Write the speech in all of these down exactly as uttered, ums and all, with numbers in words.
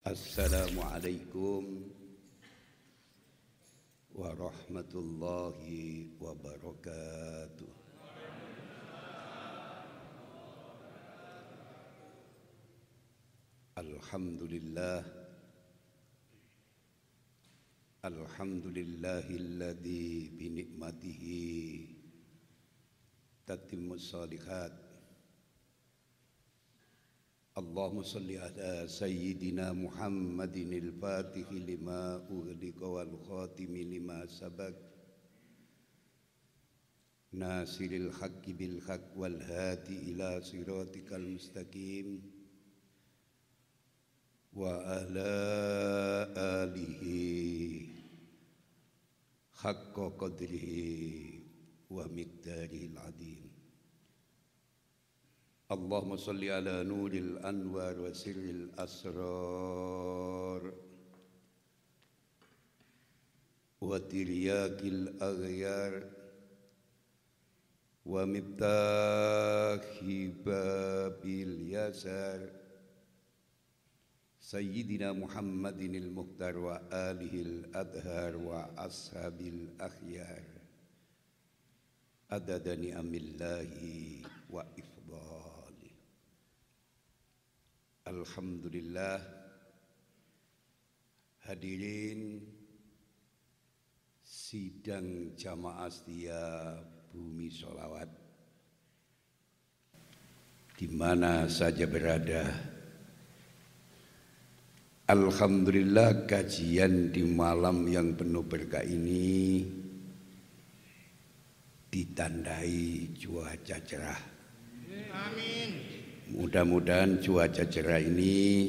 Assalamualaikum warahmatullahi wabarakatuh. Alhamdulillah Alhamdulillahilladzi bi ni'matihi tatimmus shalihat. Allahumma salli ala sayyidina Muhammadin al-Fatihi lima ughliqa wal khatimi lima sabaq nasiril haqqi bil haqq wal hadi ila siratikal mustaqim wa ala alihi haqqa qadrihi wa miqdarihil azim. Allahumma salli ala nuril anwar wa sirril asrar wa tiryakil aghyar wa miftahi babil yasar Sayyidina Muhammadin al-Mukhtar wa alihi al-adhar wa ashabil akhyar adada ni'amillahi wa ifdal. Alhamdulillah, hadirin sidang jamaah setia Bumi Sholawat di mana saja berada. Alhamdulillah, kajian di malam yang penuh berkah ini ditandai cuaca cerah. Amin. Mudah-mudahan cuaca cerah ini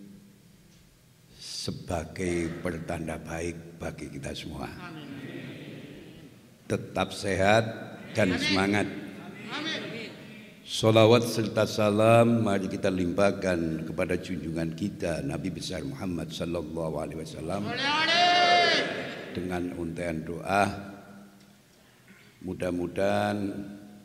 sebagai pertanda baik bagi kita semua. Amin. Tetap sehat dan Amin. Semangat. Amin. Salawat serta salam mari kita limpahkan kepada junjungan kita Nabi besar Muhammad sallallahu alaihi wasallam dengan untaian doa. Mudah-mudahan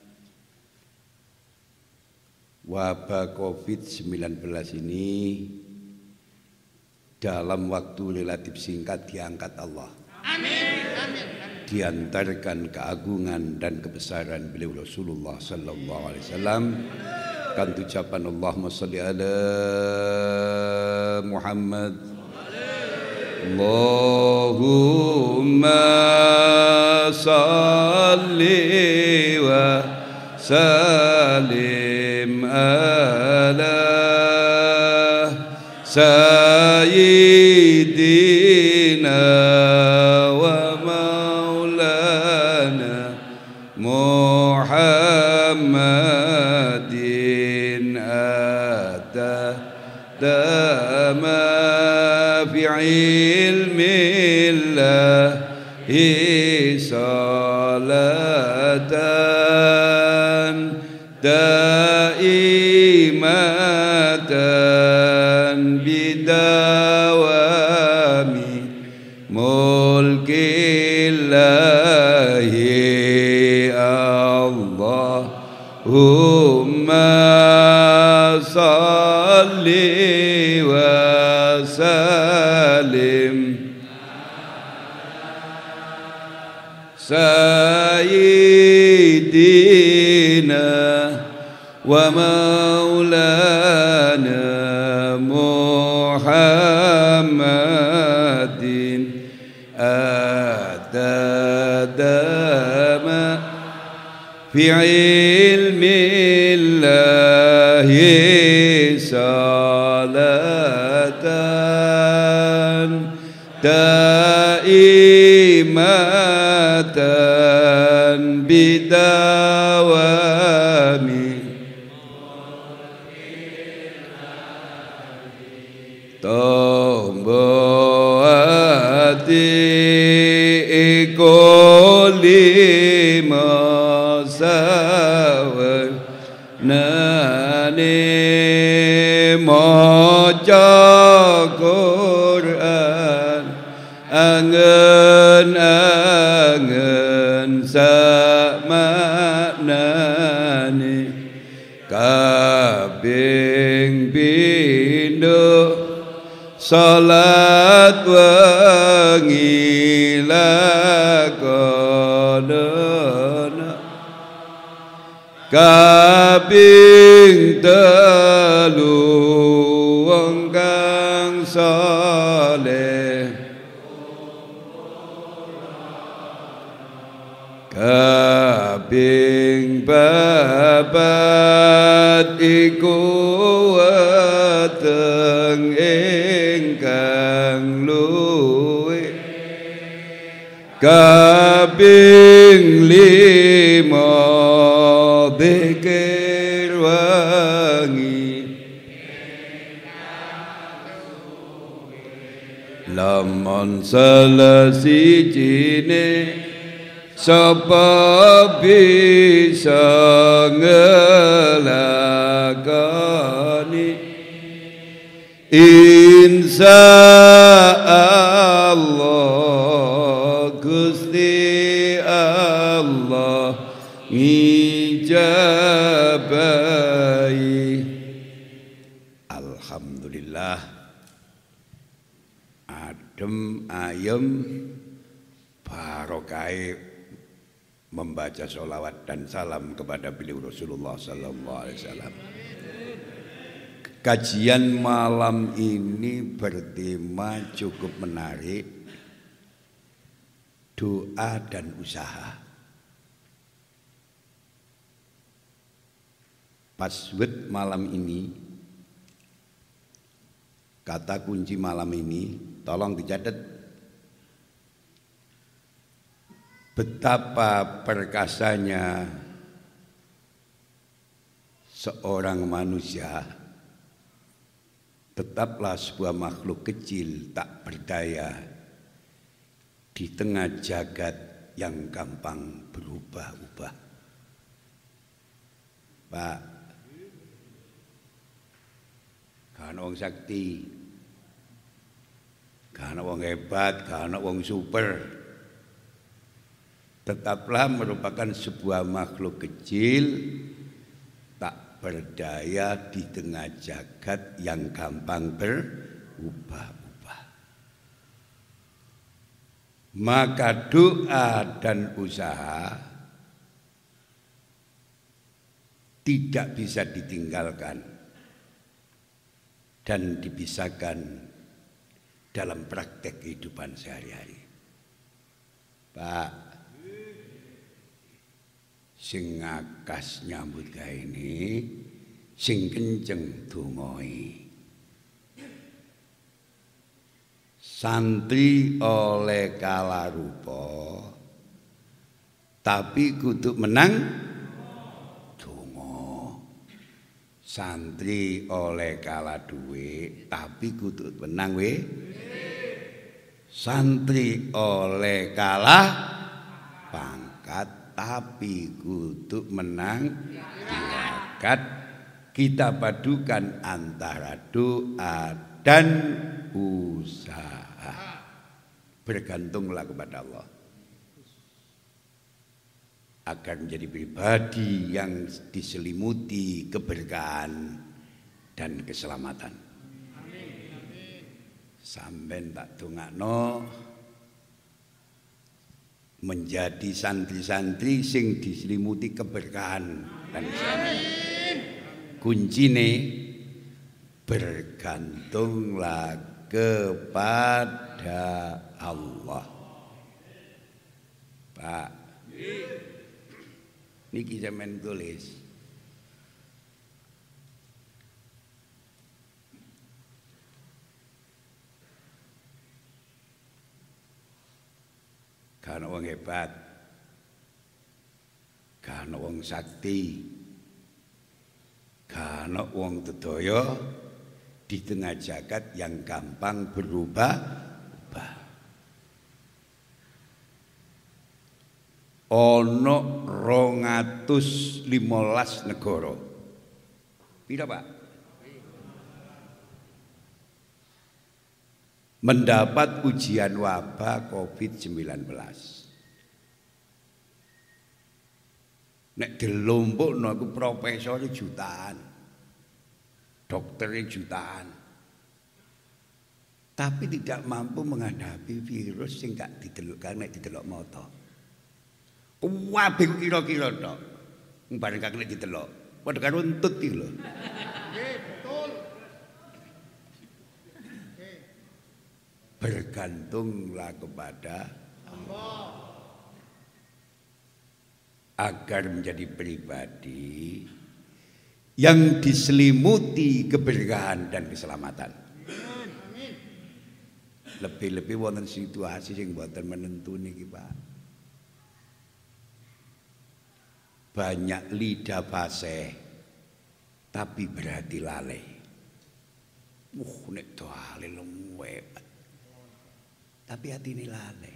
wabah covid sembilan belas ini dalam waktu relatif singkat diangkat Allah. Amin. Amin. Diantarkan keagungan dan kebesaran beliau Rasulullah sallallahu alaihi wasallam. Kan ucapan Allahumma shalli ala Muhammad. Allahumma shalli wa sallim ala sayyidina wa maulana Muhammadin ata dama fi ilmillahi salatan daimatan bidawami mulkillahi Allahumma salli wa sallim sayyidina wa maulana Muhammadin adadama fi ilmillahi salatan daimatan bidawami tombo ati ikoli masawan nani maca Quran angen-angen samaknane kabeh pindho salat wengi lakonono kaping telu wong kang saleh kaping papat iku weteng ingkang luwih kaping lima dzikir wangi lamun salah sijine sapa bisa ngelakoni insya Allah Gusti Allah ngijabahi. Alhamdulillah adem ayem barokah membaca sholawat dan salam kepada beliau Rasulullah Sallallahu Alaihi Wasallam. Kajian malam ini bertema cukup menarik, doa dan usaha. Password malam ini, kata kunci malam ini, tolong dicatat. Betapa perkasanya seorang manusia, tetaplah sebuah makhluk kecil tak berdaya di tengah jagat yang gampang berubah-ubah. Pak, gak ana wong sakti, gak ana wong hebat, gak ana wong super. Tetaplah merupakan sebuah makhluk kecil tak berdaya di tengah jagat yang gampang berubah-ubah. Maka doa dan usaha tidak bisa ditinggalkan dan dipisahkan dalam praktek kehidupan sehari-hari. Pak, sing ngakas nyambut gawe ini sing kenceng dongoi. Santri oleh kala rupa tapi kudu menang donga. Santri oleh kala duwe tapi kudu menang we. Santri oleh kalah pangkat tapi kudu menang bakat. Kita padukan antara doa dan usaha. Bergantunglah kepada Allah agar menjadi pribadi yang diselimuti keberkahan dan keselamatan. Sampeyan tak dongakno menjadi santri-santri sing diselimuti keberkahan dan keselamatan. Kuncine bergantunglah kepada Allah. Pak, niki sampeyan tulis. Gak ana wong hebat, gak ana wong sakti, gak ana wong dedaya di tengah jagat yang gampang berubah-ubah. Ana rong atus limolas negara. Pira, Pak? Mendapat ujian wabah covid sembilan belas. Nek dilompokno iku profesor jutaan. Dokter jutaan. tapi tidak mampu menghadapi virus sing gak didelok karena didelok mata. Kabeh kira-kira tok. Bareng kak nek didelok, padha karo untut iki lho. Nggih, betul. Bergantunglah kepada Allah agar menjadi pribadi yang diselimuti keberkahan dan keselamatan. Lebih-lebih wonten situasi sing mboten menentu niki, Pak. Banyak lidah fasih tapi berhati lalai. Uh, nek doale luwih. Tapi hati ini lalai.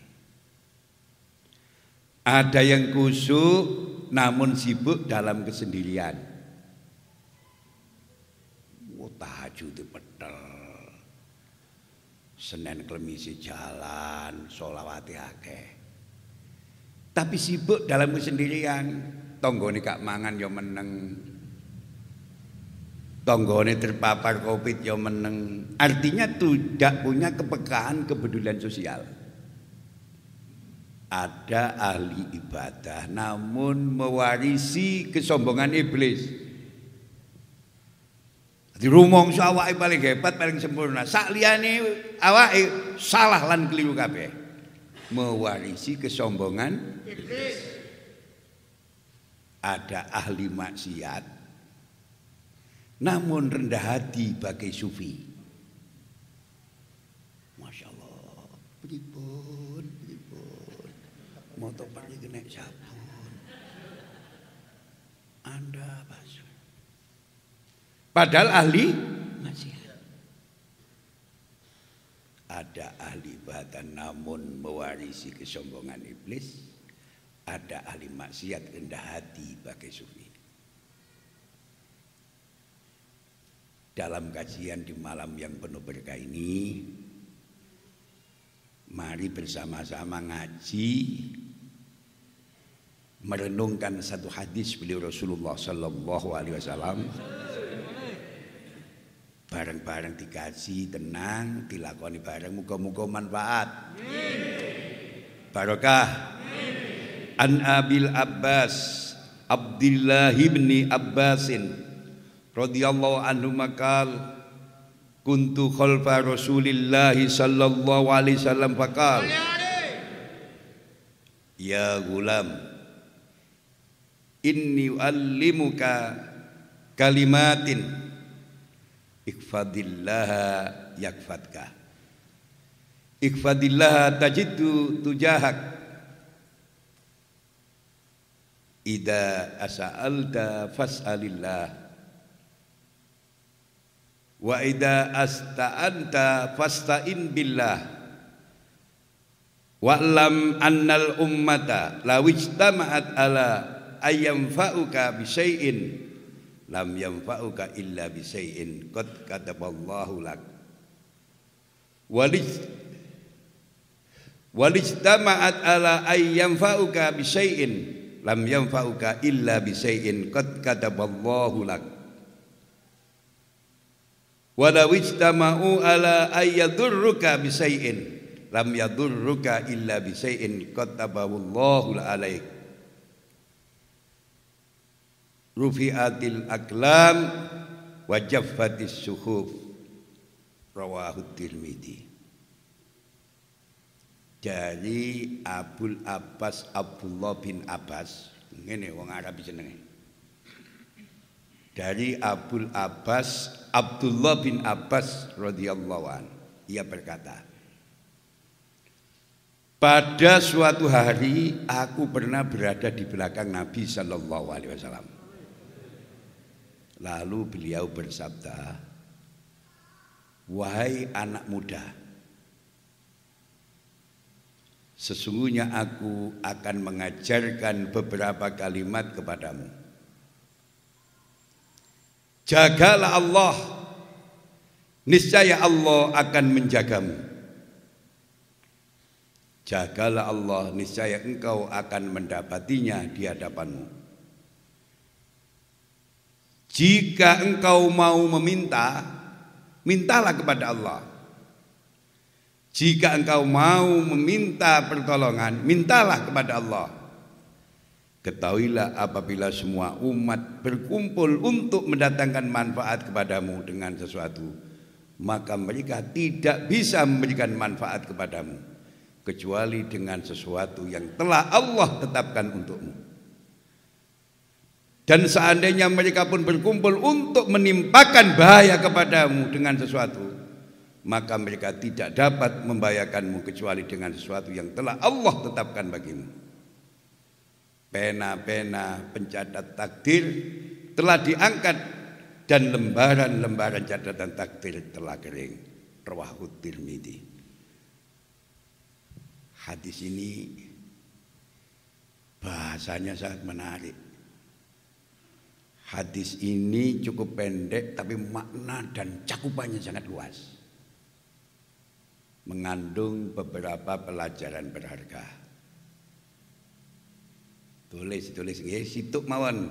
Ada yang kusuk namun sibuk dalam kesendirian. Tahajud petel, Senin Klemisi jalan, sholawati akeh. Tapi sibuk dalam kesendirian. Tonggone gak mangan ya meneng, tonggone terpapar Covid ya meneng. Artinya tidak punya kepekaan kepedulian sosial. Ada ahli ibadah namun mewarisi kesombongan iblis. Di rumongso awake paling hebat, paling sempurna. Sak liyane awake salah lan keliru kabeh. Mewarisi kesombongan iblis. Ada ahli maksiat namun rendah hati bagai sufi. Masya Allah, pripun, pripun. Moto pergi kena sabun. Anda basuh. Padahal ahli maksiat. Ada ahli ibadah namun mewarisi kesombongan iblis. Ada ahli maksiat rendah hati bagai sufi. Dalam kajian di malam yang penuh berkah ini, mari bersama-sama ngaji, merenungkan satu hadis beliau Rasulullah Sallallahu Alaihi Wasallam. Bareng-bareng dikaji, tenang, dilakoni bareng, muga-muga manfaat. Barokah. An Abil Abbas Abdullah ibni Abbasin radhiyallahu anhu maqal kuntu khalfa Rasulillah sallallahu alaihi wasallam faqal ya gulam inni uallimuka kalimatin ikfadillaha yakfadka ikfadillaha tajidu tujahak Ida as'alta fas'alillah wa ida asta'anta fasta'in billah wa'lam annal ummata law ijtama'at ala ayyamfa'uka bisyai'in lam yanfa'uka illa bisyai'in qad kataballahu lak walij walijtama'at ala ayyamfa'uka bisyai'in lam yanfa'uka illa bisyai'in qad kataballahu lak wa law ijtama'u ala ayyadurruka bisyai'in lam yadurruka illa bisyai'in qad kataballahu alaik rufi'atil aqlam wa jaffatis suhuf rawahu Tirmidzi. Dari Abul Abbas Abdullah bin Abbas, ngene wong Arab jenenge. Dari Abul Abbas Abdullah bin Abbas radhiyallahu an, ia berkata, pada suatu hari aku pernah berada di belakang Nabi sallallahu alaihi wasallam. Lalu beliau bersabda, wahai anak muda, sesungguhnya aku akan mengajarkan beberapa kalimat kepadamu. Jagalah Allah, niscaya Allah akan menjagamu. Jagalah Allah, niscaya engkau akan mendapatinya di hadapanmu. Jika engkau mau meminta, mintalah kepada Allah. Jika engkau mau meminta pertolongan, mintalah kepada Allah. Ketahuilah apabila semua umat berkumpul untuk mendatangkan manfaat kepadamu dengan sesuatu, maka mereka tidak bisa memberikan manfaat kepadamu kecuali dengan sesuatu yang telah Allah tetapkan untukmu. Dan seandainya mereka pun berkumpul untuk menimpakan bahaya kepadamu dengan sesuatu, maka mereka tidak dapat membahayakanmu kecuali dengan sesuatu yang telah Allah tetapkan bagimu. Pena-pena pencatat takdir telah diangkat dan lembaran-lembaran catatan takdir telah kering. Rawahu Tirmidzi. Hadis ini bahasanya sangat menarik. Hadis ini cukup pendek tapi makna dan cakupannya sangat luas. Mengandung beberapa pelajaran berharga. Tulis, tulis nggih, situk mawon.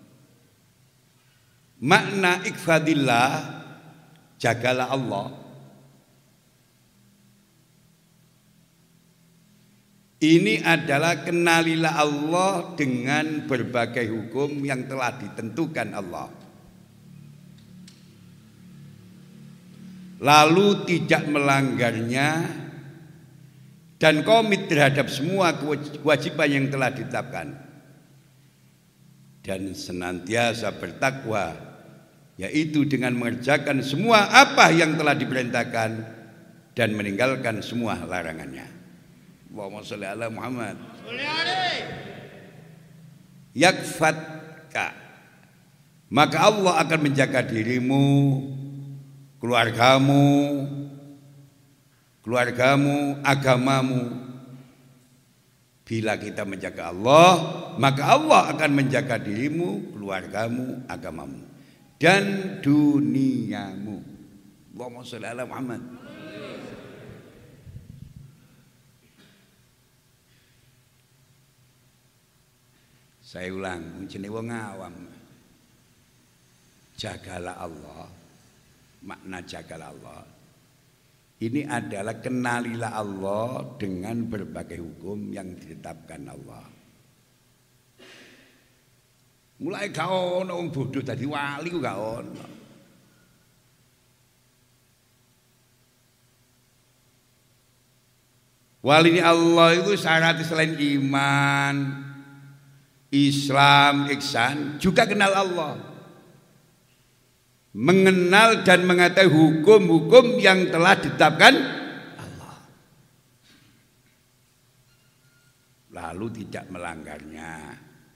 Makna ikfadillah, jagalah Allah. Ini adalah kenalilah Allah dengan berbagai hukum yang telah ditentukan Allah. Lalu tidak melanggarnya dan komit terhadap semua kewajiban yang telah ditetapkan. Dan senantiasa bertakwa, yaitu dengan mengerjakan semua apa yang telah diperintahkan dan meninggalkan semua larangannya. Allahumma sholli ala Muhammad. Yakfatka, maka Allah akan menjaga dirimu, keluargamu, keluargamu, agamamu. Bila kita menjaga Allah, maka Allah akan menjaga dirimu, keluargamu, agamamu, dan duniamu. Allahumma sholli ala Muhammad. Saya ulang, jenenge wong awam. Jagalah Allah. Makna jagalah Allah ini adalah kenalilah Allah dengan berbagai hukum yang ditetapkan Allah. Mulai gak ono wong bodoh dadi wali ku gak ono. Wali Allah itu syarat selain iman, Islam, ihsan, juga kenal Allah. Mengenal dan mengetahui hukum-hukum yang telah ditetapkan Allah, lalu tidak melanggarnya,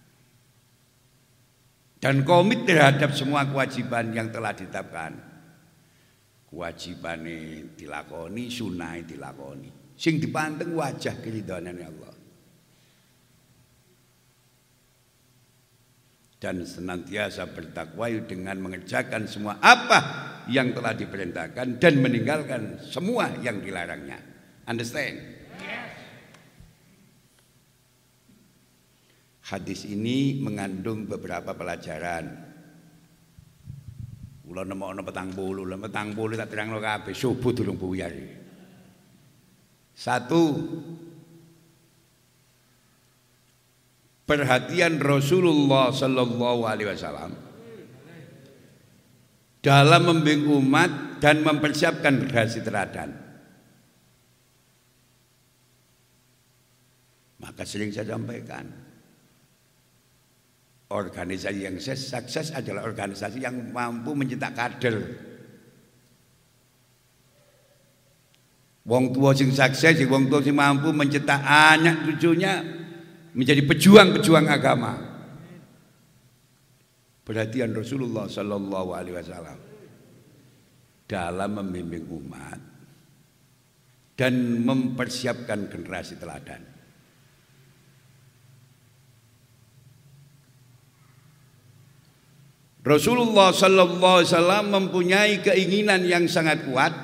dan komit terhadap semua kewajiban yang telah ditetapkan. Kewajibane dilakoni, sunah dilakoni, sing dipanteng wajah keridhaanane Allah. Dan senantiasa bertakwa dengan mengerjakan semua apa yang telah diperintahkan dan meninggalkan semua yang dilarangnya. Understand? Yes. Hadis ini mengandung beberapa pelajaran. Kula nemokno petang puluh, petang puluh tak terangno kabeh subuh durung buyar. Satu, perhatian Rasulullah Sallallahu Alaihi Wasallam dalam membimbing umat dan mempersiapkan generasi teladan. Maka sering saya sampaikan, organisasi yang sukses adalah organisasi yang mampu mencetak kader. Wong tua sing sukses, wong tua sing mampu mencetak anak cucunya menjadi pejuang-pejuang agama. Perhatian Rasulullah Sallallahu Alaihi Wasallam dalam membimbing umat dan mempersiapkan generasi teladan. Rasulullah Sallallahu Alaihi Wasallam mempunyai keinginan yang sangat kuat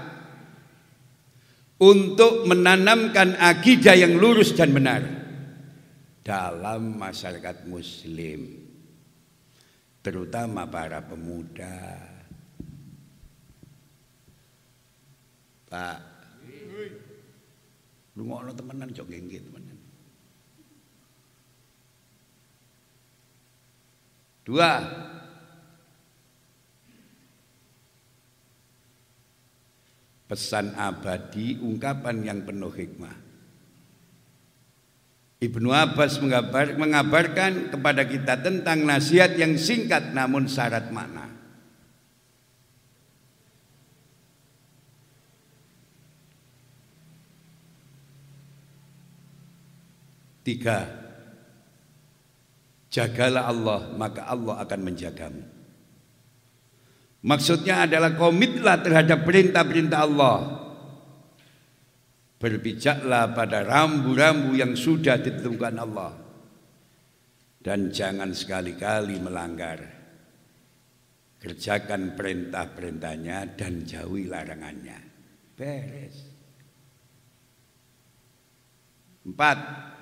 untuk menanamkan akidah yang lurus dan benar dalam masyarakat muslim, terutama para pemuda. Pak, Rungokno temenan jok nggih temenan. Dua, pesan abadi, ungkapan yang penuh hikmah. Ibnu Abbas mengabar, mengabarkan kepada kita tentang nasihat yang singkat namun syarat makna. Tiga, jagalah Allah maka Allah akan menjagamu. Maksudnya adalah komitlah terhadap perintah-perintah Allah. Berpijaklah pada rambu-rambu yang sudah ditentukan Allah. Dan jangan sekali-kali melanggar. Kerjakan perintah-perintahnya dan jauhi larangannya. Beres. Empat,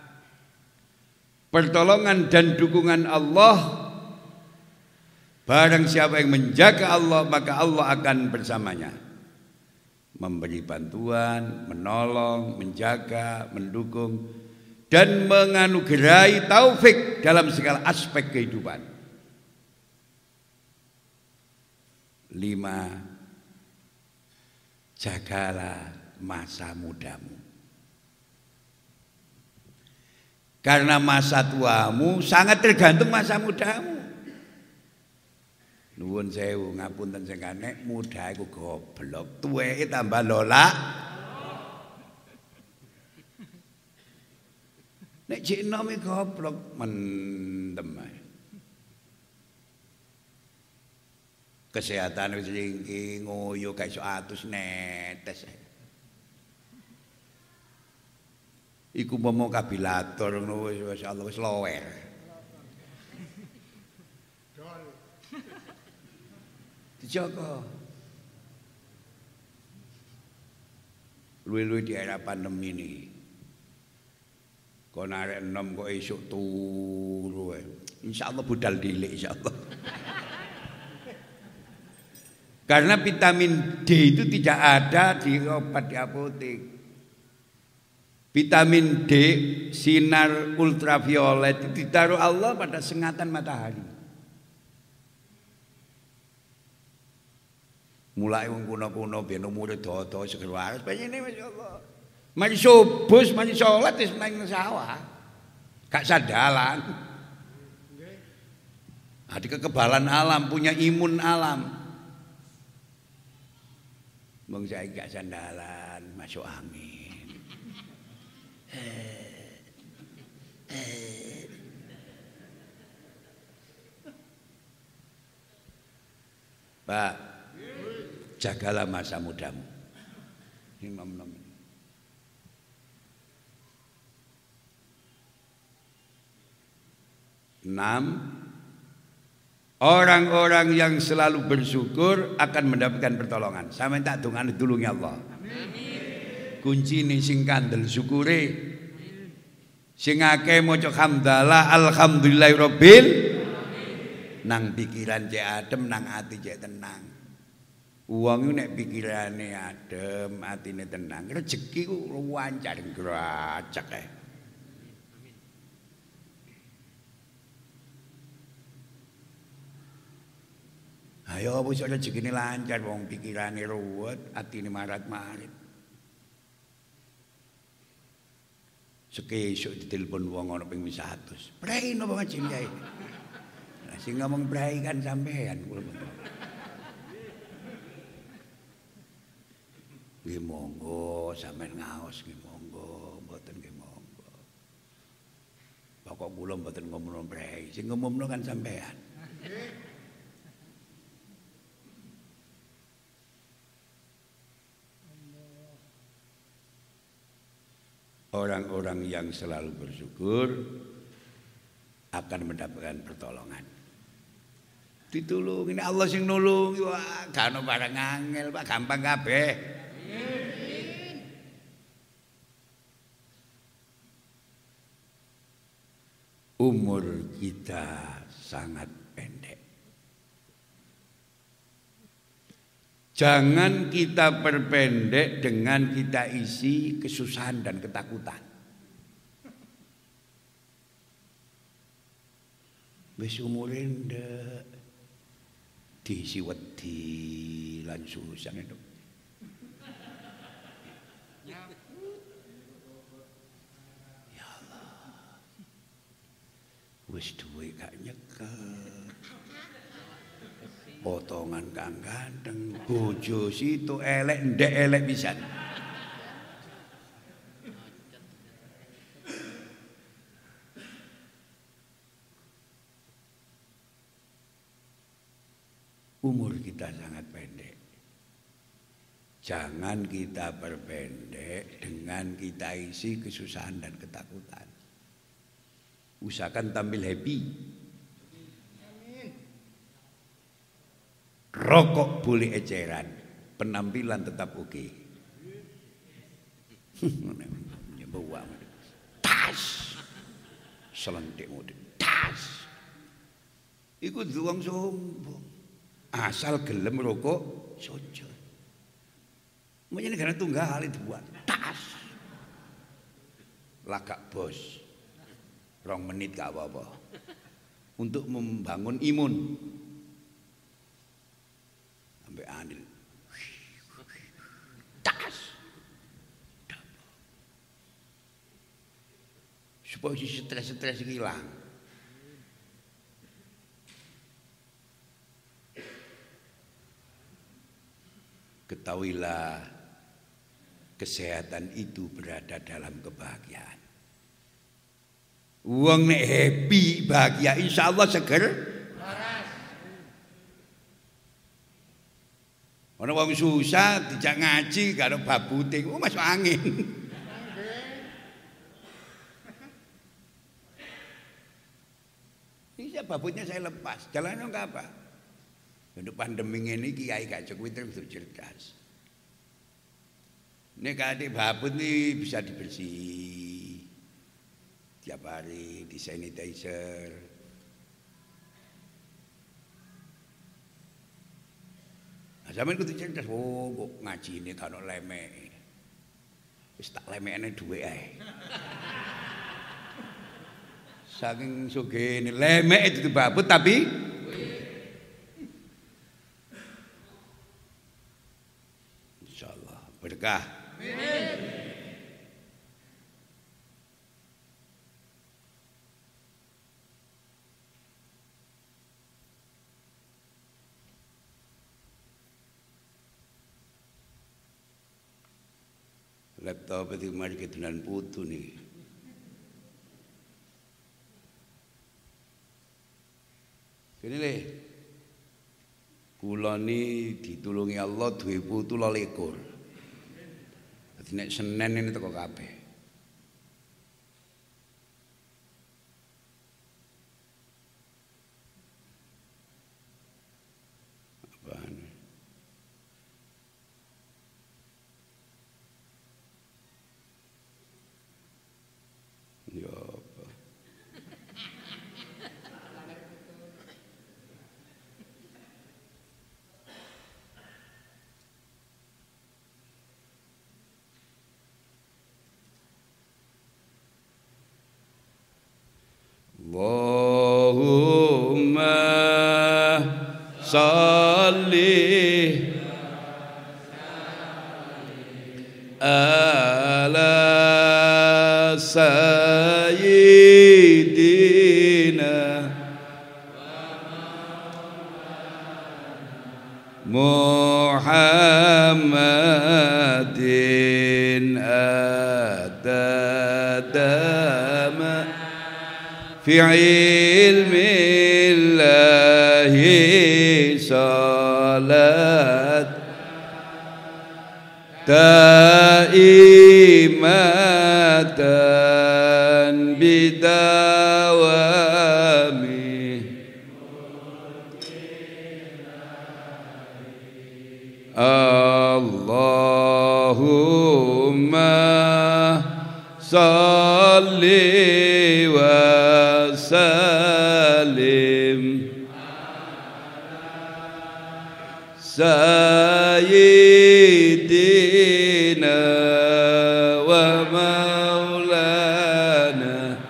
pertolongan dan dukungan Allah. Barang siapa yang menjaga Allah maka Allah akan bersamanya. Memberi bantuan, menolong, menjaga, mendukung dan menganugerahi taufik dalam segala aspek kehidupan. Lima, jagalah masa mudamu. Karena masa tuamu sangat tergantung masa mudamu. Nuwun sewu ngapunten sing kanek, muda iku goblok, tuweke tambah lolak. Nek jek enom iki goblok mendem ae. Kesehatan wis ringki, ngoyo gak iso atus netes. Iku umpama kabilator ngono wis masyaallah wis lower. Dijaga. Luwe-luwe di era pandemi ini. Kon arek enom kok esuk turu ae. Insyaallah budal dilik insyaallah. Karena vitamin D itu tidak ada di obat di apotek. Vitamin D, sinar ultraviolet itu ditaruh Allah pada sengatan matahari. Mulai wong kuno-kuno ben umure dodo seger waras penyene masyaallah. Mari subuh, mari salat wis nang sawah. Gak sandalan. Ada kekebalan alam, punya imun alam. Wong saiki gak sandalan, masuk angin. Pak, jagalah masa mudamu. Nom-nom. Enam, orang-orang yang selalu bersyukur akan mendapatkan pertolongan. Sampeyan tak dongane tulungi Allah. Amin. Kunci ini sing kandel syukure. Sing akeh maca hamdalah alhamdulillahirabbil nang pikiran cek adem, nang ati cek tenang. Wong nek pikirane adem, atine tenang, rezeki ku lancar gracek ae. Ayo wis rezekine lancar wong pikirane ruwet, atine marat-marit. Sekesuk ditelepon wong ana ping seratus. Prei napa ngaji kiai? Lah sing ngomong prei kan sampean. Nggih monggo sampean ngaos nggih monggo, mboten nggih monggo. Pokok kula mboten ngomong prei, sing ngomongno kan sampean. Orang-orang yang selalu bersyukur akan mendapatkan pertolongan. Ditulungi Allah sing nulung, wah gak ono barang angel, Pak, gampang kabeh. Umur kita sangat pendek. Jangan kita perpendek dengan kita isi kesusahan dan ketakutan. Wis umure ndek diisi wedi lan susah itu. Ya Allah. Wis duwe gak nyekel. Potongan kang ganteng, bojo situ elek ndek elek pisan. Umur kita sangat pendek. Jangan kita perpendek dengan kita isi kesusahan dan ketakutan. Usahakan tampil happy. Rokok boleh eceran, penampilan tetap oke. Okay. Tas, selentik mode, tas. Iku duang sombong. Asal gelem rokok, sojo. Makanya negara tunggal itu buat tas. Lagak bos, rong menit gak apa-apa. Untuk membangun imun. Sampai anil tas supaya si stres-stres hilang. Ketahuilah kesehatan itu berada dalam kebahagiaan. Wong nek happy bahagia insya Allah seger. Orang wong susah dijak ngaji karo babute ku masuk angin. Ini babutnya saya lepas. Jalannya enggak apa. Untuk pandemi ini kiai gak cukup itu cerdas. Ini kadang babut ini bisa dibersih tiap hari, di sanitizer. Zaman kudu cerdas, oh kok ngaji ini kalau lemek, wis tak lemekane duwe ae. Saking sugih lemek itu babut tapi insyaallah berkah. Amin. Laptop itu mari ketunan putu nih. Kene le. Kula ni ditulungi Allah duwe putu loro ekor. Dadi nek Senin ini teko kabeh. Allahumma salli ala sayyidina Muhammadin adadama fi ilmillahi salat daimatan bidawami Allahumma salli wa sallim sayyidina wa maulana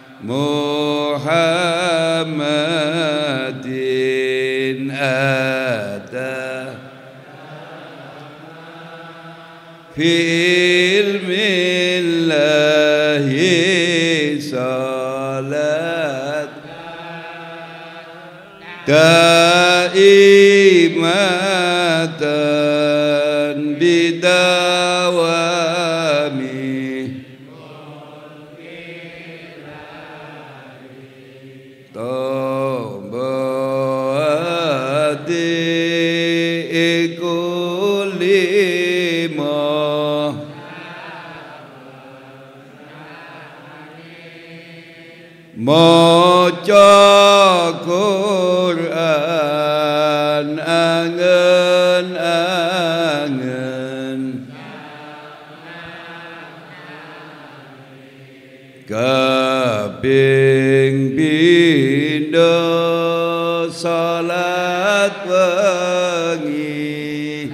Muhammadin ada fi ilmillahi salat daimatan bidawami tombadi ikulima maca Quran angen-angen kaping pindho salat wengi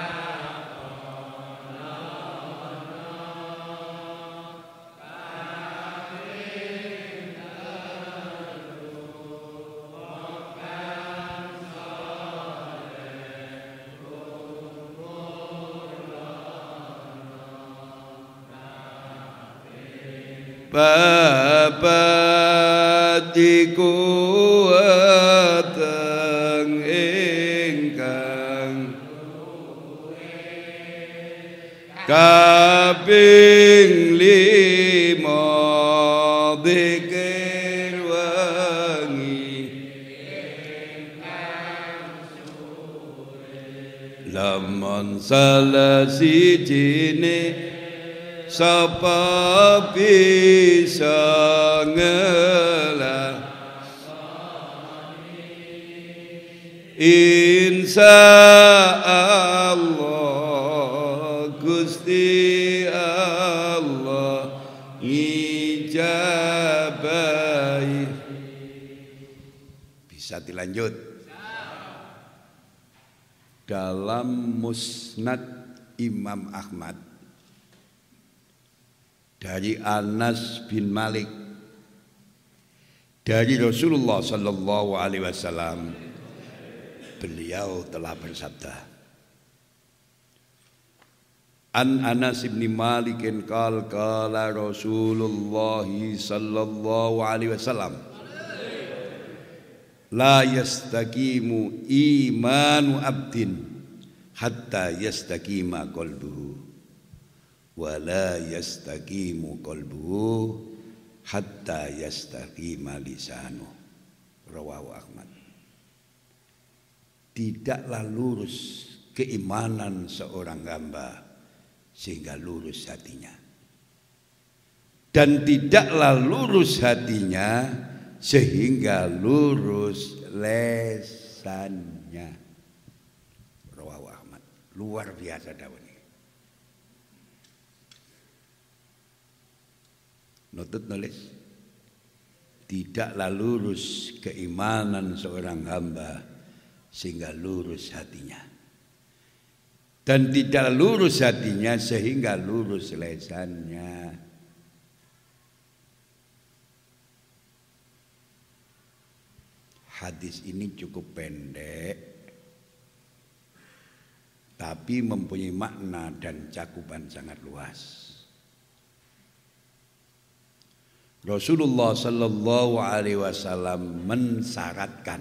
babat iku weteng ingkang kaping lima dzikir wengi lamun salah sijine sapa bisa ngelah insya Allah Gusti Allah ngijabai. Bisa dilanjut. Dalam Musnad Imam Ahmad dari Anas bin Malik dari Rasulullah sallallahu alaihi wasallam, beliau telah bersabda, An Anas bin Malik qala qala Rasulullah sallallahu alaihi wasallam, la yastaqimu imanu abdin hatta yastaqima qalbuhu wala yastaqimu qalbuhu hatta yastaqima lisanuh. Rawahu Ahmad. Tidaklah lurus keimanan seorang hamba sehingga lurus hatinya, dan tidaklah lurus hatinya sehingga lurus lesannya. Rawahu Ahmad. Luar biasa dawuh. Notut nulis, tidaklah lurus keimanan seorang hamba sehingga lurus hatinya, dan tidak lurus hatinya sehingga lurus lesannya. Hadis ini cukup pendek, tapi mempunyai makna dan cakupan sangat luas. Rasulullah sallallahu alaihi wasallam mensyaratkan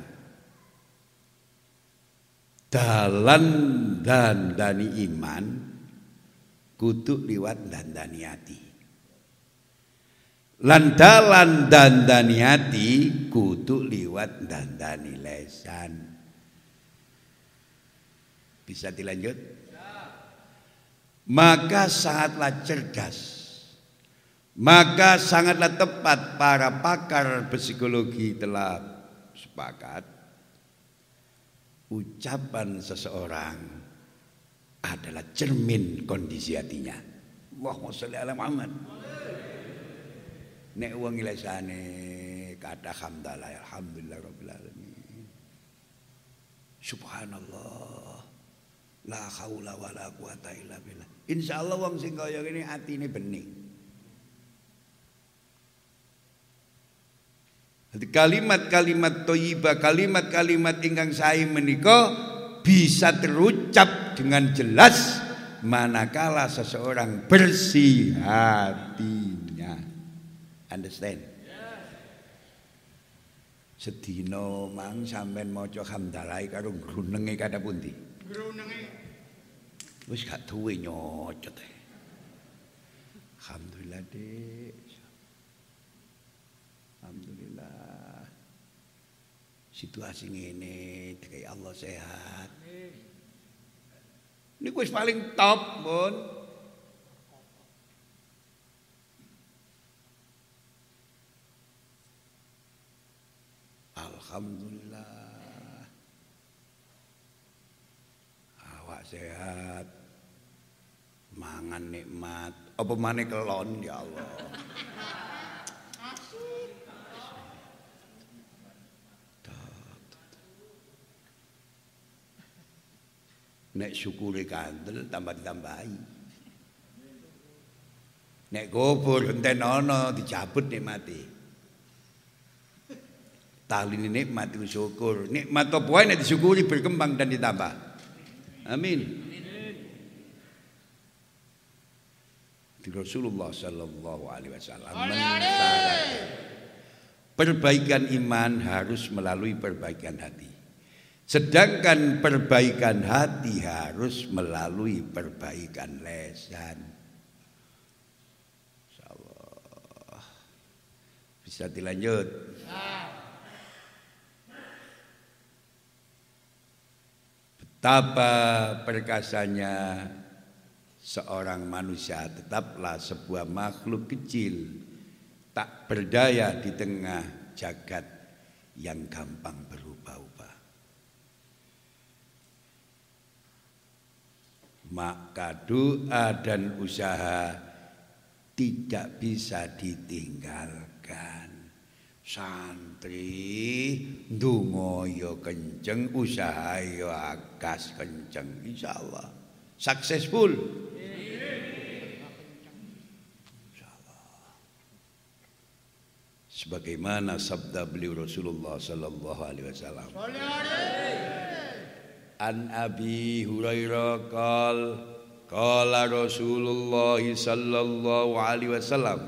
dalan dandani iman kudu liwat dandani hati, lan dalan dandani hati kudu liwat dandani lesan. Bisa dilanjut? Maka sangatlah cerdas, maka sangatlah tepat para pakar psikologi telah sepakat, ucapan seseorang adalah cermin kondisi hatinya. Allahumma sholli ala Muhammad. Nek wong lesane kata hamdalah alhamdulillah rabbil alamin, subhanallah La haula wala quwata illa billah. Insyaallah wong sing kaya ngene atine bening. Kalimat-kalimat thayyibah, kalimat-kalimat ingkang sae menika bisa terucap dengan jelas manakala seseorang bersih hatinya. Understand? Sedina mang sampean maca hamdalah karo grunenge kada pundi? Grunenge. Wis gak duwe nyocot e. Alhamdulillah, Dik. Alhamdulillah. Situasi ngene dikai Allah sehat. Niku wis paling top, Mun. Alhamdulillah. Awak sehat. Mangan nikmat. Apa maneh kelon ya Allah. Nek syukure kandel tambah ditambahi. Nek kubur enten ana dicabut nikmate. Taline nikmat itu syukur. Nikmat apa wae nek disyukuri berkembang dan ditambah. Amin. Di Rasulullah sallallahu alaihi wasallam mensyaratkan perbaikan iman harus melalui perbaikan hati. Sedangkan perbaikan hati harus melalui perbaikan lisan. Insyaallah. Bisa dilanjut. Betapa perkasanya seorang manusia, tetaplah sebuah makhluk kecil, tak berdaya di tengah jagat yang gampang berubah-ubah. Maka doa dan usaha tidak bisa ditinggalkan. Santri ndonga ya kenceng, usaha ya agas kenceng, insyaallah successful. Insyaallah. Sebagaimana sabda beliau Rasulullah sallallahu alaihi wasallam. An Abi Hurairah qal qala Rasulullah sallallahu alaihi wasallam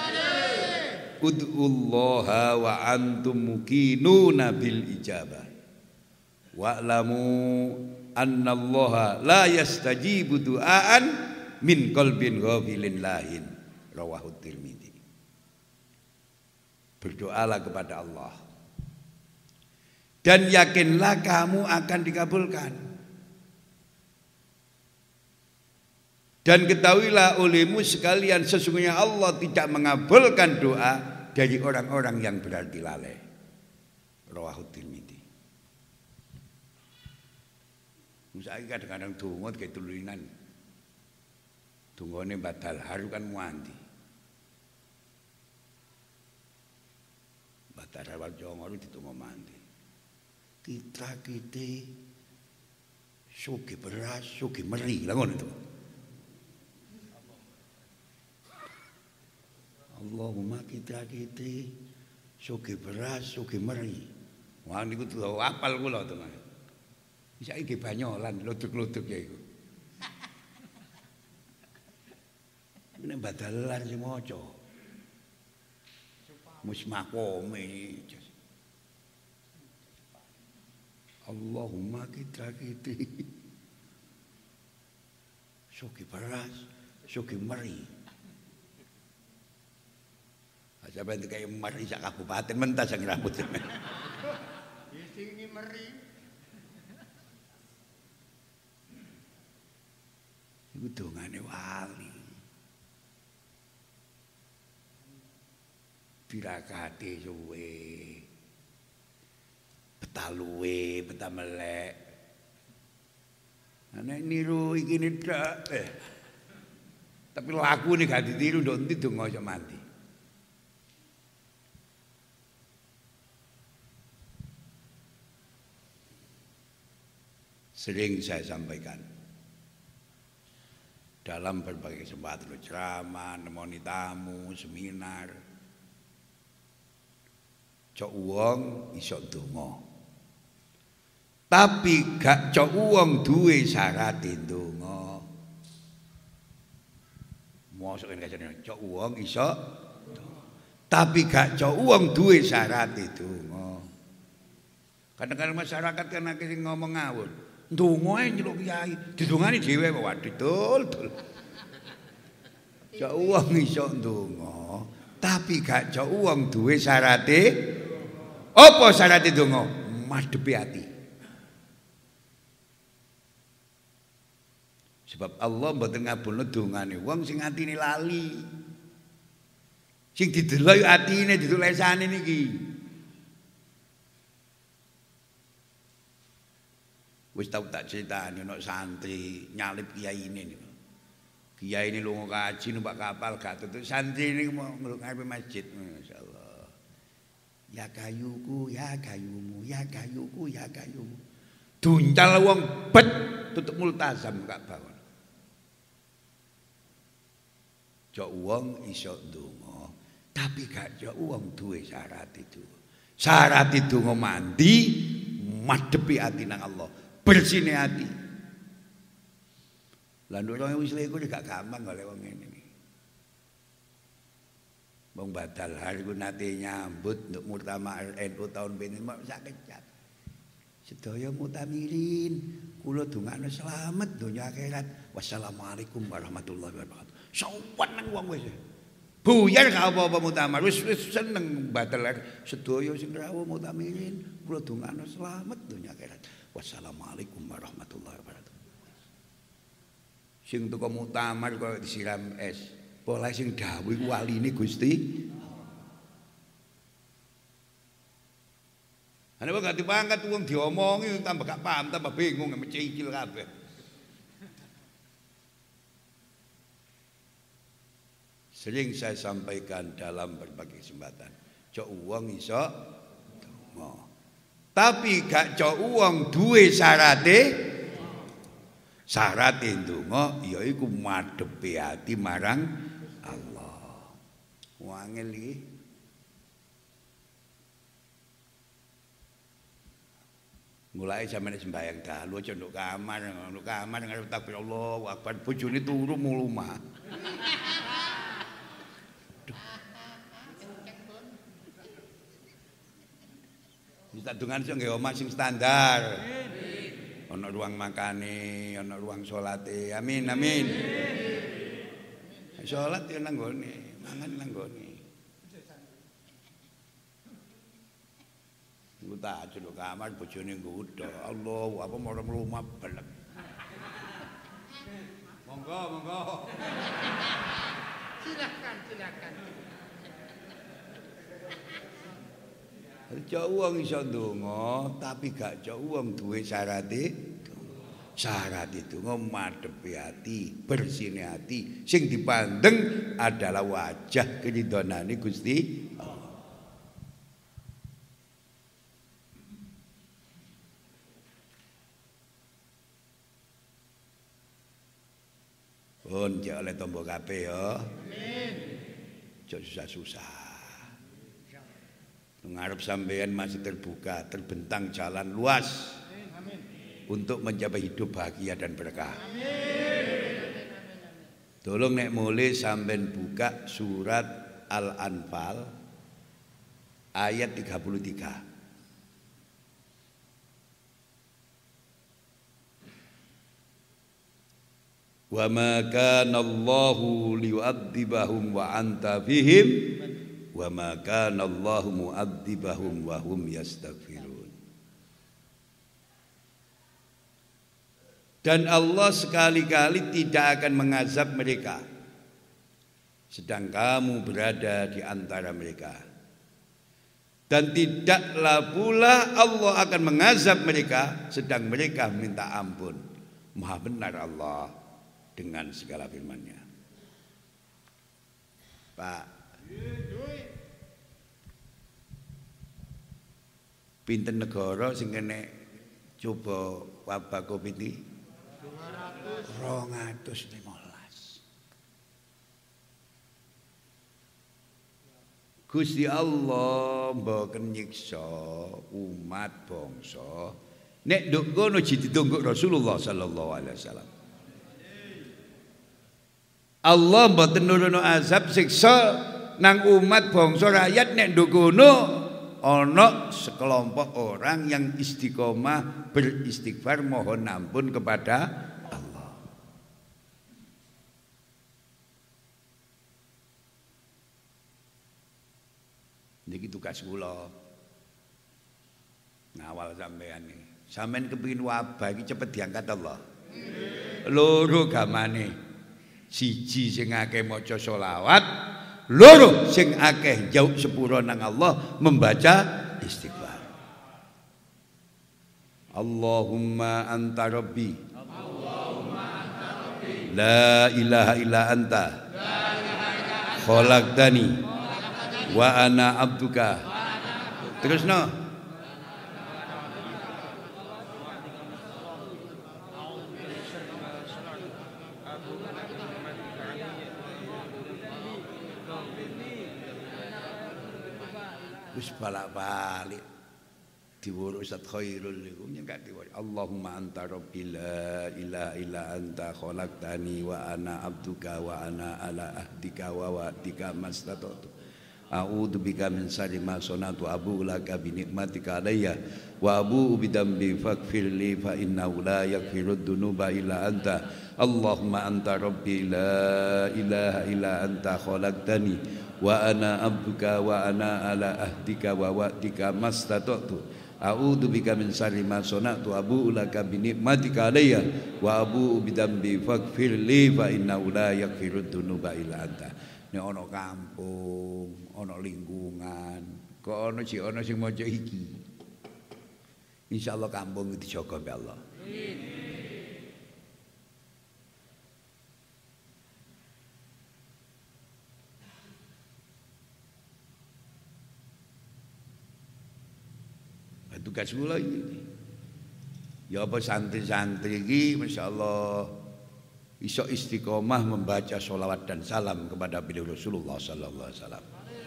ud'ullaha wa antum muqinuna bil ijabah wa'lamu annallaha la yastajibu du'aan min qalbin ghafilin lahin. Rawahu Tirmidzi. Berdoalah kepada Allah dan yakinlah kamu akan dikabulkan. Dan ketahuilah olehmu sekalian, sesungguhnya Allah tidak mengabulkan doa dari orang-orang yang berarti lalai. Rawahu Tirmidzi. Saiki kadang-kadang donga kayak tulunan. Dongane batal haru kan muanti. Batal haru jongo ditunggu mandi. Kita kite suki beras, suki meri, lah ngono to. Allahumma kita kite suki beras, suki meri. Wah niku tuh apal kula to. Saiki banyolan luduk-luduk ya iku. Nek badalan sing maca. Musmakome. Allahumma kita kiti suki beras, suki meri. Aja ben kaya meri sak kabupaten mentas sing rambut. Sing meri. Iku dongane wali. Pirakate suwe. Betaluwe, betamelek. Nek niru iki ndak eh. Tapi laku nih gak ditiru ndok endi donga aja mati. Sering saya sampaikan, dalam berbagai kesempatan ceramah, nemoni tamu, seminar. Cok wong iso ndonga. Tapi gak cok wong duwe syarat ndonga. Mosok nek jane cok wong iso tapi gak cok wong duwe syarat ndonga. Kadang-kadang masyarakat kan akeh sing ngomong ngawur. Ndonga ae nyeluk kiai, didongani dhewe kok waduh dul. Cok wong iso ndonga, tapi gak cok wong duwe syarate. Apa syarate ndonga? Madhepi ati. Sebab Allah mboten ngabulno dongane wong sing atine lali. Sing didelok atine ditulesane niki. Wis tau tak critani ana santri nyalip kiai ini niku. Kiai ini lunga kaji numpak kapal gak tutut santri niku mau ngarepe masjid masyaallah. Ya kayuku, ya kayumu, ya kayuku, ya kayumu. Duncal wong bet tutup multazam Ka'bah. Cok wong iso ndonga, tapi gak cok wong duwe syarat itu. Syarat itu mandi, madhepi ati nang Allah. Bersine ati. Lah nek wis iku gak gampang golek wong ngene iki. Wong Badal hari ku nate nyambut untuk Muktamar N U tahun pinten mak sak kecap. Sedaya mutamirin, kula dongakno slamet donya akhirat. Wassalamualaikum warahmatullahi wabarakatuh. Sowan nang wong wis. Buyar gak apa-apa Muktamar, wis wis seneng Badal sedaya sing rawuh mutamirin, kula dongakno slamet donya akhirat. Wassalamualaikum warahmatullahi wabarakatuh. Sing teko muktamar kok disiram es. Pola sing dawuh iku waline Gusti. Ana kok gak dipangkat wong diomongi tambah gak paham, tambah bingung mecikil kabeh. Sering saya sampaikan dalam berbagai kesempatan. Cok wong iso donga. Tapi gak cok wong duwe syarate. Syarate ndonga yaiku madhepi ati marang Allah. Wangel iki. Mulai sampeyan sembahyang dalu aja nduk kamar, nduk kamar ngarep takbir Allahu Akbar, bojone turu mulumah. Kita dengan sing nggih omah sing standar. Ana ruang makane, ana ruang salate. Amin amin. Salat yo nang gone, mangan nang gone. Uta aja kamar bojone nggodho. Allah, apa marang rumah belek. Monggo, monggo. Silakan, silakan. Cok wong iso ndonga tapi gak cok wong duwe syarate. Syarat itu madhepi ati, bersine ati. Sing dipandeng adalah wajah keridhonane Gusti Allah. Pun jek oleh tombo kabeh ya. Amin. Cok susah-susah. Ngarep sampean masih terbuka, terbentang jalan luas. Amin. Untuk mencapai hidup bahagia dan berkah. Amin. Tolong nek mulai sampean buka surat Al-Anfal ayat tiga puluh tiga. Wa ma kana Allahu liyu'adzibahum wa anta fihim wa ma kana Allahu mu'adzibahum wa hum yastaghfirun. Dan Allah sekali-kali tidak akan mengazab mereka sedang kamu berada di antara mereka. Dan tidaklah pula Allah akan mengazab mereka sedang mereka minta ampun. Maha benar Allah dengan segala firman-Nya. Pak, pinten negara sing kena coba wabah Covid iki? dua ratus lima belas. Gusti Allah mboten nyiksa umat bangsa nek nduk ngono ditunggu Rasulullah sallallahu alaihi wasallam. Allah mboten nurono azab siksa nang umat bangsa rakyat nek nduk ngono ana sekelompok orang yang istiqomah beristighfar mohon ampun kepada niki tugas kula ngawal sampean iki. Sampeyan kepengin wabah iki cepet diangkat Allah. Loro gamane. Siji sing akeh maca selawat, loro sing akeh jauh sepuro nang Allah membaca istighfar. Allahumma anta rabbi. Allahumma anta rabbi. La ilaha illa anta. La ilaha illa anta. Khalaqtani wa ana abduka. Terus no. Wis balak-balik diwuru Ustaz Khairul niku nyengak diwaca Allahumma anta rabbi la ilaha illa anta khalaqtani wa ana abduka wa ana ala ahdika wa wa'dika mastata'tu. A'udzu bika min syarri ma sanatu abu laka bi nikmatika alayya wa abu bi dambi faghfirli fa innahu la yaghfirud dunuba illa anta. Allahumma anta rabbi la ilaha illa anta khalaqtani wa ana abduka wa ana ala ahdika wa wa'dika mastata'tu. A'udzu bika min syarri ma sanatu abu laka bi nikmatika alayya wa abu bi dambi faghfirli fa innahu la yaghfirud dunuba illa anta. Nek ana kampung, ana lingkungan, kok ana sing ana sing maca iki. Insyaallah kampung dijaga mbek Allah. Amin. Tugas kula iki. Ya apa santri-santri iki masyaallah iso istiqomah membaca sholawat dan salam kepada beliau Rasulullah sallallahu alaihi wasallam.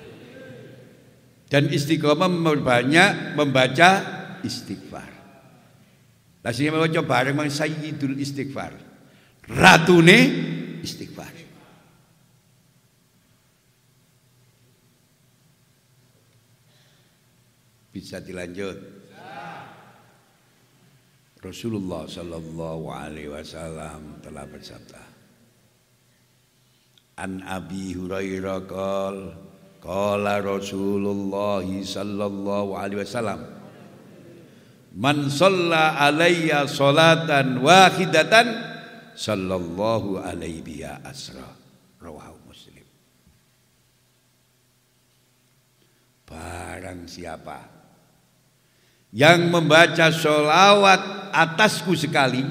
Dan istiqomah memperbanyak membaca istighfar. Lah sing maca bareng mang sayyidul istighfar. Ratune istighfar. Bisa dilanjut. Rasulullah sallallahu alaihi wasallam telah bersabda, An Abi Hurairah qol qala Rasulullah sallallahu alaihi wasallam, Man shalla alayya salatan wahidatan sallallahu alaihi biha asra. Rawahu Muslim. Barang siapa yang membaca sholawat atasku sekali,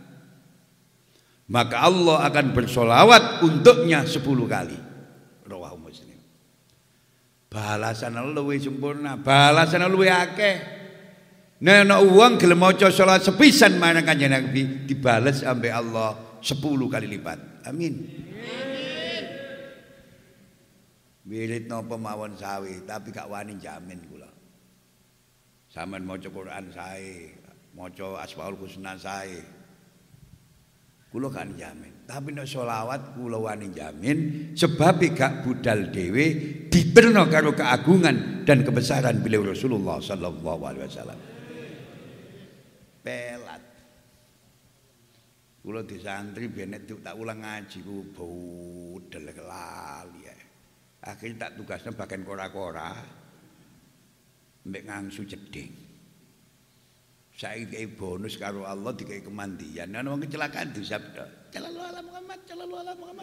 maka Allah akan bersolawat untuknya sepuluh kali. Rawahu Muslim. Balasan Allah luwih sempurna, balasan Allah luwih akeh. Nek ana wong gelem maca sholawat sepisan marang Kanjeng Nabi dibales sampai Allah sepuluh kali lipat. Amin. Amin. Wirid napa mawon sawi, tapi gak wani jamin kula. Sampeyan maca Quran sae, maca Asmaul Husna sae. Kula kan jamin. Tapi nek selawat kula wani jamin sebab gak budal dhewe diterno karo keagungan dan kebesaran beliau Rasulullah sallallahu alaihi wasallam. Pelat. Kula di santri ben nek tak ulang ngaji ku budal kelali. Akhirnya tak tugasnya bagian kora-kora mbek ngangsu jeding. Saiki bonus karo Allah dikai kemandian. Ana wong kecelakaan disabda, "Sallallahu alaihi Muhammad, sallallahu alaihi Muhammad."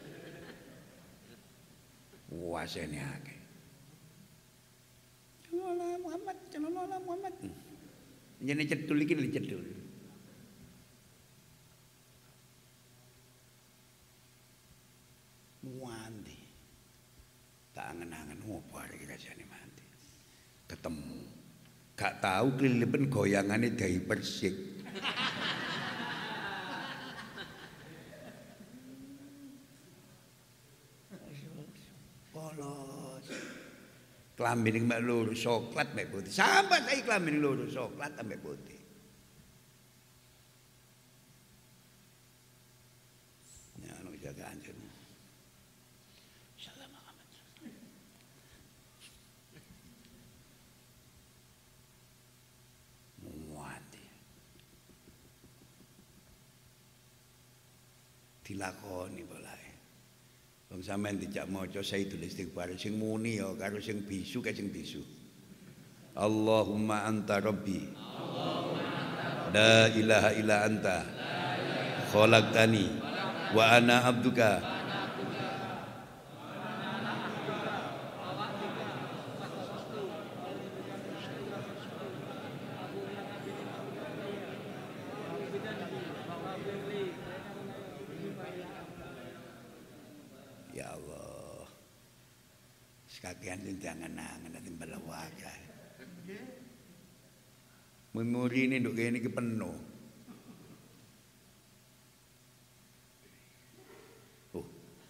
Wasene akeh. Sallallahu alaihi Muhammad, sallallahu alaihi Muhammad. Njene cedul iki lho cedul. Muandi. Tak angen-angen opo arek rasane mandi. Ketemu gak tahu kelilipan goyangannya dari Persik. Polos. Klambi ning mek loro coklat mek putih. Sampai saiki klambi ning loro coklat mek putih. Ya ono jaga anjir. Salam Muhammad. Muati. Dilakoni polae. Wong sampean dijak maca Sayyidul Istighfar sing muni ya karo sing bisu ka sing bisu. Allahumma anta rabbi. Allahumma anta rabbi. La ilaha illa anta. Khalaqtani wa ana abduka. Kakean jangan-jangan nanti balawak. Memori ini nduk kene iki penuh. Oh.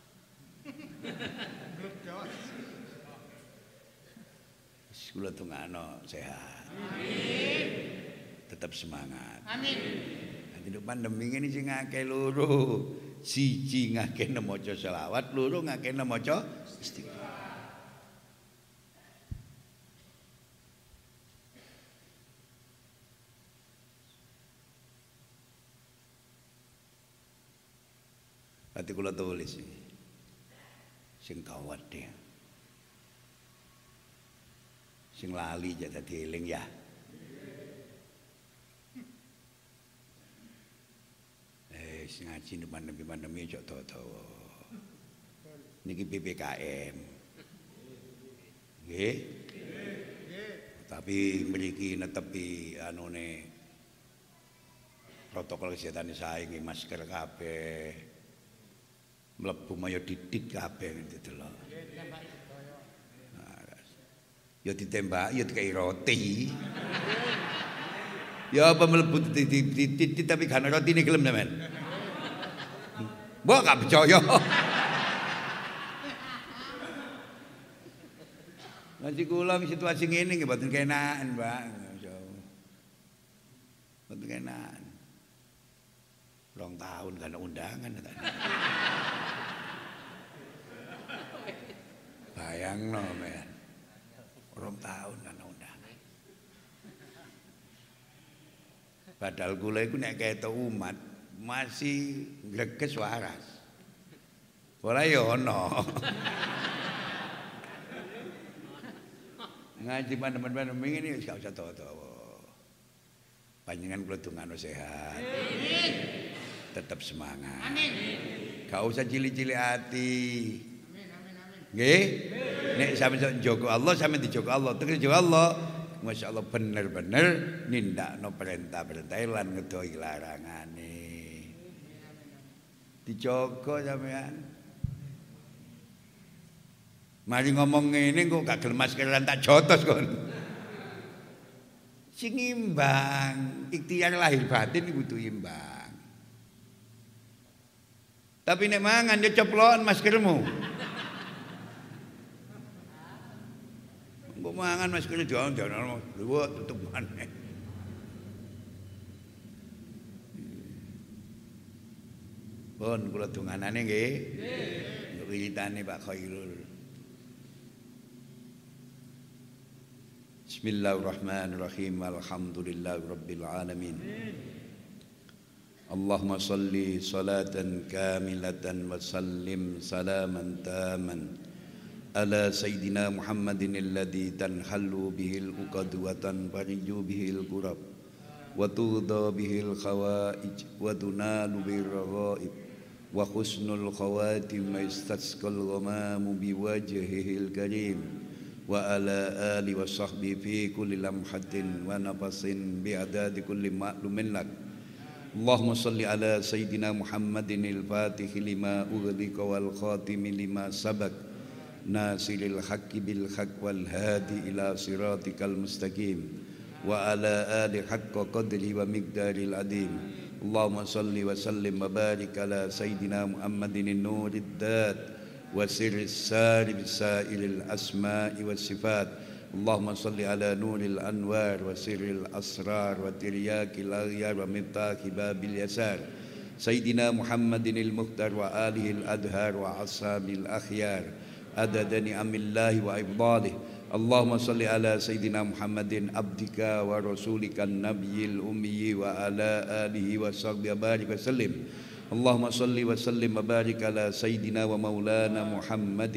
Kula tungano sehat. Amin. Tetap semangat. Amin. Nanti nduk pandemi ini sing akeh loro. Siji ngakene maca selawat, loro ngakene maca istighfar. Hati kula tulis sing kawat deh, sing lali jadi dieling ya. Eh, sing ngaji pandemi pandemi cok tawa-tawa. Niki P P K M, nggih. Tapi mriki netepi anune protokol kesehatan sae nggih masker kabeh. Mlebu maya didik kabeh gitu lho. Ya ditembak, ya dikai roti. Ya apa mlebu didik tapi gak ana rotine gelem sampean. Mbok gak percaya. Nanti kula situasi ngene nggih mboten kenaken, Mbak. Mboten kenaken. Rong tahun kan undangan tadi. Bayangno men. Rong tahun kan undangan. Padahal kula iku nek ketok umat masih greges waras. Ora ya ono. Ngaji pandemi-pandemi ini wis gak usah tawa-tawa. Panjenengan kula dongano sehat. Amin. Tetap semangat. Amin. Gak usah cilik-cilik hati. Amin amin amin. Nggih? Nek sampeyan njogo Allah, sampeyan dijogo Allah. Tenan njogo Allah, masyaallah bener-bener nindakno perintah-perintah lan ngedohi larangane. Dijogo sampeyan. Mari ngomong ngene kok gak gelem maskeran tak jotos kon. Sing imbang, ikhtiar lahir batin kudu imbang. Tapi nek mangan yo ceplokan maskermu. Mbok mangan masker dion-dion lho tutup maneh. Pun kula donganane nggih. Nggih. Wiritane Pak Khairul. Bismillahirrahmanirrahim. Alhamdulillahi rabbil alamin. Allahumma salli salatan kamilatan wa sallim salaman taman ala sayyidina Muhammadin alladhi tanhallu bihil uqad wa tanfariju bihil kurab wa tudha bihil khawaij wa tunalu bihil raghaib wa husnul khawatim ma istasqal ghamamu biwajhihil karim wa ala ali wa sahbihi fi kulli lamhatin wa nafasin bi adadi kulli ma'lumin lak. Allahumma salli ala sayyidina Muhammadin al-fatih lima ughliqa wal khatimi lima sabaq nasiril haqqi bil haqq wal hadi ila siratikal mustaqim wa ala ali haqqa qadri wa miqdaril adim. Allahumma salli wa sallim wa barik ala sayyidina Muhammadin an-nurid dat وسر السار بسائر الأسماء والصفات. اللهم صل على نور الأنوار وسر الأسرار وترياك الأغيار ومفتاح باب اليسار سيدنا محمد المختار وآله الأدهار وأصحاب الأخيار عدد نعم الله وإفضاله. اللهم صل على سيدنا محمد عبدك ورسولك النبي الأمي وعلى آله وصحبه وبارك وسلم. اللهم صل وسلم وبارك على سيدنا ومولانا محمد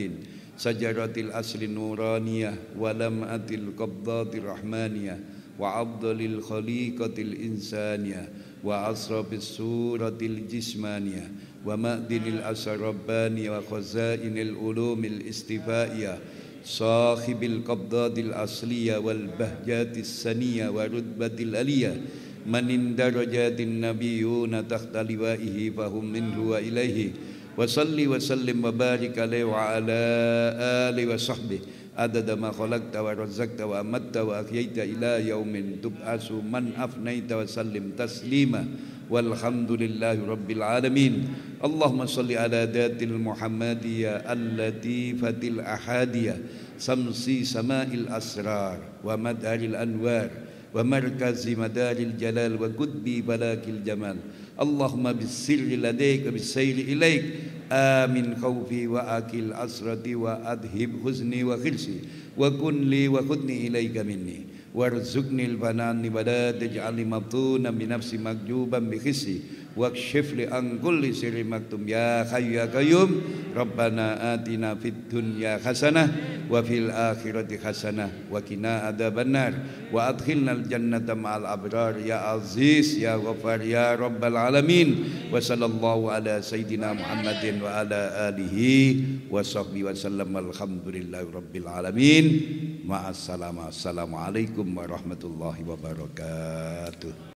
شجرة الأصل النورانية ولمعة القبضات الرحمانية وأفضل الخليقة الإنسانية وأشرف الصورة الجسمانية ومعدن الأسرار الربانية وخزائن العلوم الاستفائية صاحب القبضات الأصلية والبهجات السنية ورتبة العلية من درجات النبيون تحت لوائه فهم منه وإليه. وصل وسلم وبارك عليه وعلى آله وصحبه عدد ما خلقت ورزقت وأمت وأحييت إلى يوم تبعث من أفنيت وسلم تسليما والحمد لله رب العالمين. اللهم صل على ذات المحمدية اللطيفة الأحادية شمس سماء الأسرار ومدار الأنوار ومركز مدار الجلال وقطب فلاك الجمال. اللهم بالسر لديك بالسير إليك آمن خوفي وأكل أسرتي وأذهب حزني وخلسي وكن لي وخذني إليك مني وارزقني الفنان ولا تجعلني مفتونا بنفسي مكجوبا بخسي واكشف لي عن كل سر مكتوم يا حي يا قيوم. ربنا آتنا في الدنيا حسنة وفي الآخرة حسنة وقنا عذاب النار وأدخلنا الجنة مع الأبرار يا عزيز يا غفار يا رب العالمين. وصلى الله على سيدنا محمد وعلى آله وصحبه وسلم الحمد لله رب العالمين. مع السلامة. السلام عليكم warahmatullahi wabarakatuh.